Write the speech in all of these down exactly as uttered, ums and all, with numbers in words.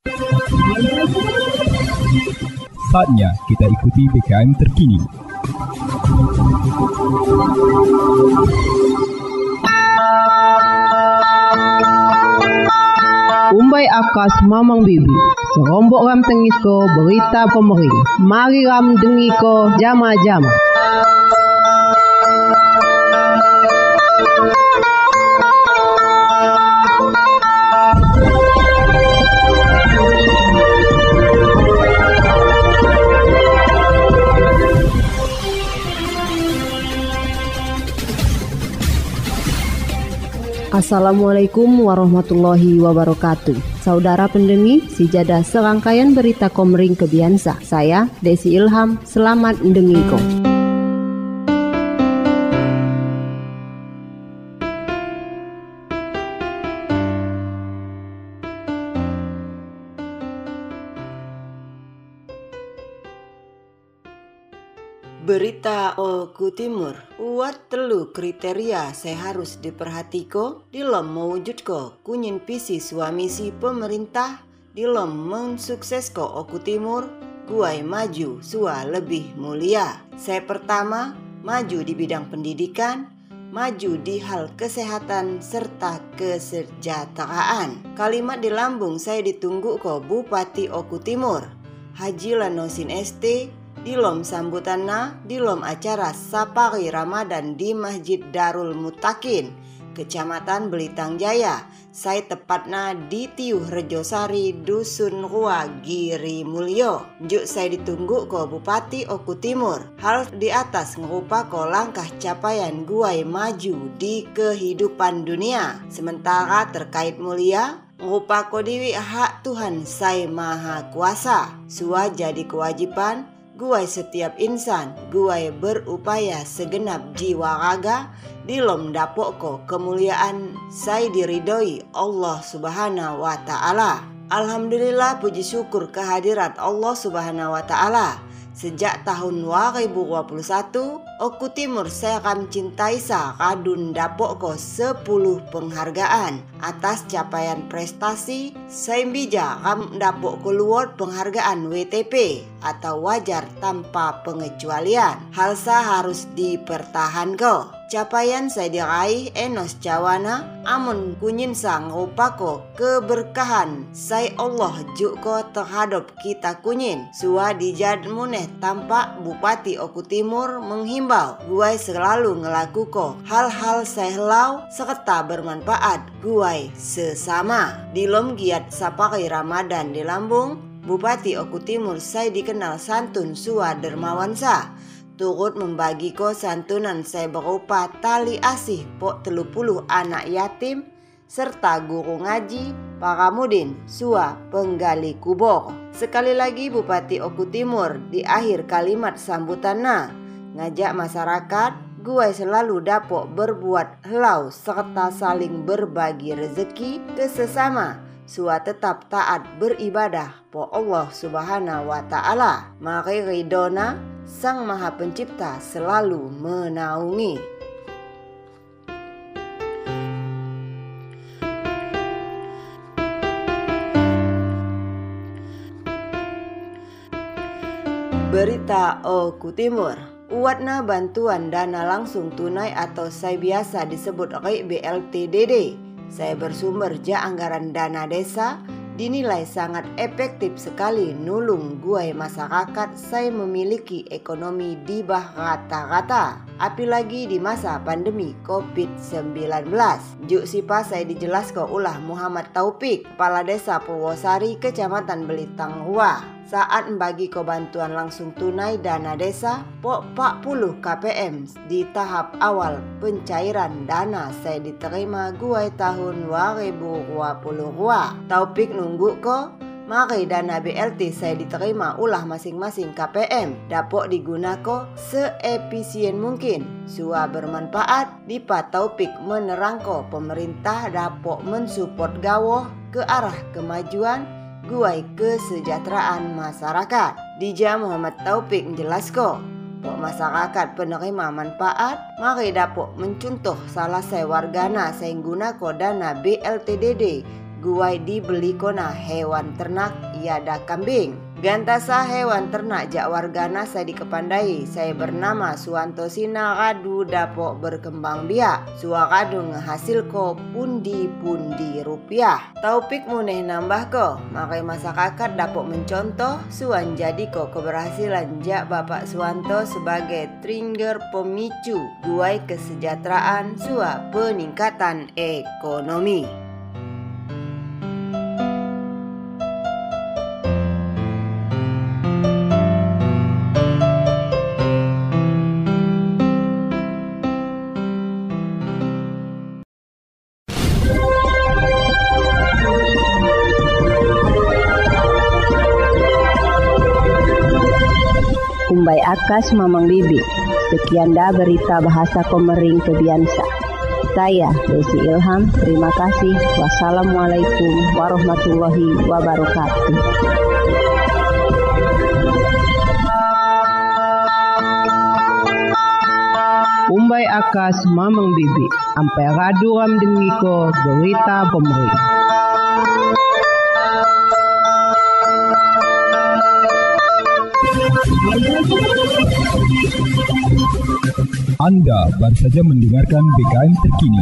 Saatnya kita ikuti B K M terkini. Umbai akas mamang bibi, serombok ram tengiko berita pemering. Mari ram dengiko jama-jama. Assalamualaikum warahmatullahi wabarakatuh. Saudara pendengi, sejadah serangkaian berita Komering Kebiansa. Saya Desi Ilham, selamat mendengiko. Berita Oku Timur, uat telu kriteria saya harus diperhatiko dilom mewujudko kunyin visi suami si pemerintah dilom mensuksesko Oku Timur guai maju sua lebih mulia. Saya pertama, maju di bidang pendidikan, maju di hal kesehatan serta kesejahteraan. Kalimat di lambung saya ditunggu ko Bupati Oku Timur Haji Lanosin S T dilom sambutanna dilom acara Sapari Ramadan di Masjid Darul Mutakin, Kecamatan Belitang Jaya. Saya tepatna di Tiuh Rejosari, Dusun Rua, Giri Mulyo. Juk saya ditunggu ko Bupati Oku Timur. Hal di atas ngerupa ko langkah capaian guai maju di kehidupan dunia. Sementara terkait mulia, ngerupa ko diwi hak Tuhan Sai Maha Kuasa. Sua jadi kewajiban guai setiap insan, guai berupaya segenap jiwa raga dilom dapok ko kemuliaan saya diridoi Allah Subhanahu wa Ta'ala. Alhamdulillah, puji syukur kehadirat Allah Subhanahu wa Ta'ala. Sejak tahun dua ribu dua puluh satu, Oku Timur saya akan cintai sa kadun dapok ko sepuluh penghargaan atas capaian prestasi. Saya bija kam dapok ko luar penghargaan W T P atau wajar tanpa pengecualian. Hal sa harus dipertahankan. Capaian saya diraih enos cawana amun kunyin sang rupako keberkahan saya Allah juko terhadap kita kunyin. Sua dijad muneh tampak Bupati Oku Timur menghimbau guai selalu ngelakuko hal-hal saya lau serta bermanfaat guai sesama. Dilom giat Sapari Ramadan di lambung, Bupati Oku Timur saya dikenal santun sua dermawansa. Turut membagiko santunan saya berupa tali asih pok telu puluh anak yatim serta guru ngaji, para mudin, sua penggali kubur. Sekali lagi Bupati Oku Timur di akhir kalimat sambutanna ngajak masyarakat guai selalu dapok berbuat helau serta saling berbagi rezeki ke sesama. Sua tetap taat beribadah po Allah Subhanahu wa Ta'ala. Mari ridona Sang Maha Pencipta selalu menaungi. Berita Oku Timur, uatna bantuan dana langsung tunai atau saya biasa disebut B L T D D. Saya bersumber ja anggaran dana desa dinilai sangat efektif sekali nulung guai masyarakat saya memiliki ekonomi di bawah rata-rata. Apalagi di masa pandemi covid sembilan belas. Juk sipa saya dijelaskan ulah Muhammad Taufik, Kepala Desa Purwosari, Kecamatan Belitang Rua. Saat membagi ko bantuan langsung tunai dana desa pok empat puluh K P M di tahap awal pencairan dana saya diterima guai tahun dua ribu dua puluh dua. Taufik nunggu ko mari dana B L T saya diterima ulah masing-masing K P M dapok digunakan seefisien mungkin. Sua bermanfaat dipa Taufik menerangko pemerintah dapok mensupport gawoh ke arah kemajuan guai kesejahteraan masyarakat. Dija Muhammad Taufik menjelaskan pok masyarakat penerima manfaat mari dapok mencontoh salah saya wargana saya guna ko dana B L T D D guai dibeli kona hewan ternak iada kambing. Gantasa hewan ternak jak wargana saya dikepandai. Saya bernama Suwanto Sina kadu dapok berkembang biak. Sua kadu ngehasil ko pundi-pundi rupiah. Taupik muneh nambah ko, makai masyarakat dapok mencontoh suan jadi ko keberhasilan jak Bapak Suwanto sebagai trigger pemicu guai kesejahteraan sua peningkatan ekonomi. Kumbai akas Mamang Bibi. Sekian dah berita bahasa Komering Kebiansa. Saya Desi Ilham, terima kasih. Wassalamualaikum warahmatullahi wabarakatuh. Kumbai akas Mamang Bibi. Ampai radu ram dengiko berita Komering. Anda baru saja mendengarkan B K M terkini.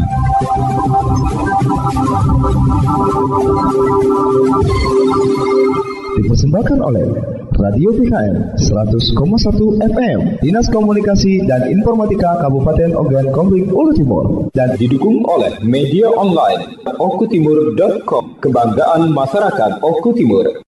Dipersembahkan oleh Radio B K M seratus koma satu F M, Dinas Komunikasi dan Informatika Kabupaten Ogan Komering Ulu Timur, dan didukung oleh media online okutimur dot com, kebanggaan masyarakat Oku Timur.